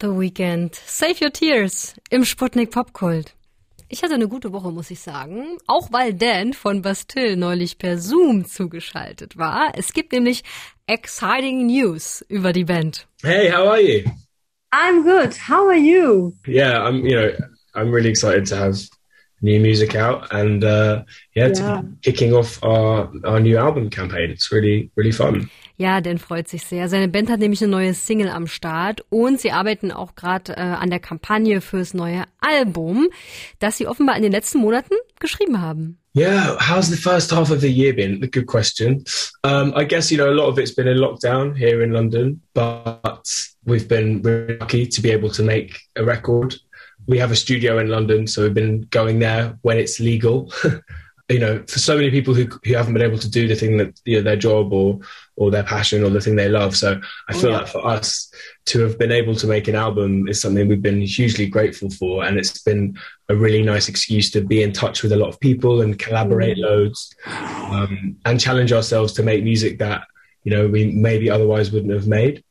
The Weeknd. Save Your Tears im Sputnik Popkult. Ich hatte eine gute Woche, muss ich sagen. Auch weil Dan von Bastille neulich per Zoom zugeschaltet war. Es gibt nämlich exciting news über die Band. Hey, how are you? I'm good. How are you? Yeah, I'm really excited to have new music out and to be kicking off our new album campaign. It's really, really fun. Ja, Dan freut sich sehr. Seine Band hat nämlich eine neue Single am Start und sie arbeiten auch gerade an der Kampagne fürs neue Album, das sie offenbar in den letzten Monaten geschrieben haben. Yeah, how's the first half of the year been? A good question. I guess, a lot of it's been in lockdown here in London, but we've been really lucky to be able to make a record. We have a studio in London, so we've been going there when it's legal. For so many people who haven't been able to do the thing that, their job or their passion or the thing they love. So I feel like for us to have been able to make an album is something we've been hugely grateful for. And it's been a really nice excuse to be in touch with a lot of people and collaborate loads, and challenge ourselves to make music that, we maybe otherwise wouldn't have made.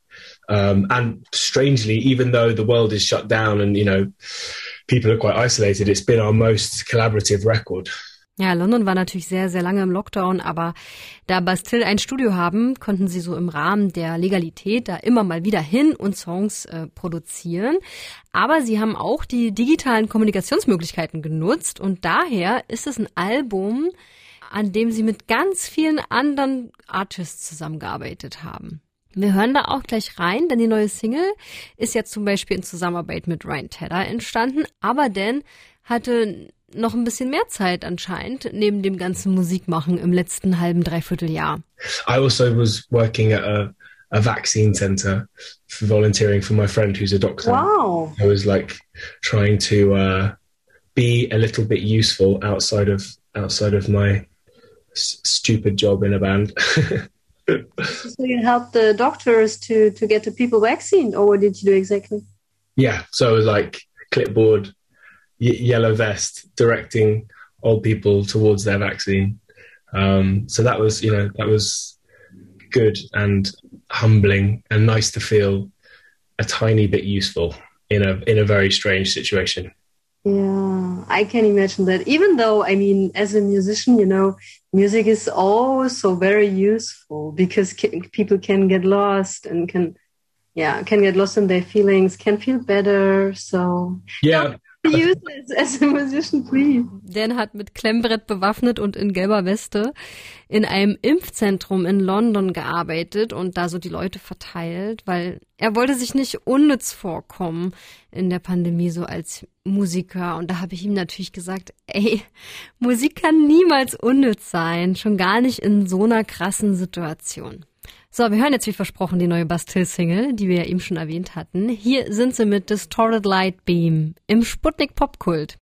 And strangely, even though the world is shut down and, people are quite isolated, it's been our most collaborative record. Ja, London war natürlich sehr, sehr lange im Lockdown, aber da Bastille ein Studio haben, konnten sie so im Rahmen der Legalität da immer mal wieder hin und Songs produzieren. Aber sie haben auch die digitalen Kommunikationsmöglichkeiten genutzt und daher ist es ein Album, an dem sie mit ganz vielen anderen Artists zusammengearbeitet haben. Wir hören da auch gleich rein, denn die neue Single ist ja zum Beispiel in Zusammenarbeit mit Ryan Tedder entstanden, aber Dan hatte noch ein bisschen mehr Zeit anscheinend, neben dem ganzen Musikmachen im letzten halben, dreiviertel Jahr. I also was working at a vaccine center for volunteering for my friend who's a doctor. Wow. I was trying to be a little bit useful outside of my stupid job in a band. So you helped the doctors to get the people vaccinated, or what did you do exactly? Yeah, so it was clipboard, yellow vest, directing old people towards their vaccine. So that was good and humbling and nice to feel a tiny bit useful in a very strange situation. Yeah, I can imagine that. Even though, as a musician, music is also very useful because people can get lost and can get lost in their feelings, can feel better. So yeah. Use it as a musician, please. Dan hat mit Klemmbrett bewaffnet und in gelber Weste in einem Impfzentrum in London gearbeitet und da so die Leute verteilt, weil er wollte sich nicht unnütz vorkommen in der Pandemie so als Musiker. Und da habe ich ihm natürlich gesagt, Musik kann niemals unnütz sein, schon gar nicht in so einer krassen Situation. So, wir hören jetzt wie versprochen die neue Bastille-Single, die wir ja eben schon erwähnt hatten. Hier sind sie mit Distorted Light Beam im Sputnik Popkult.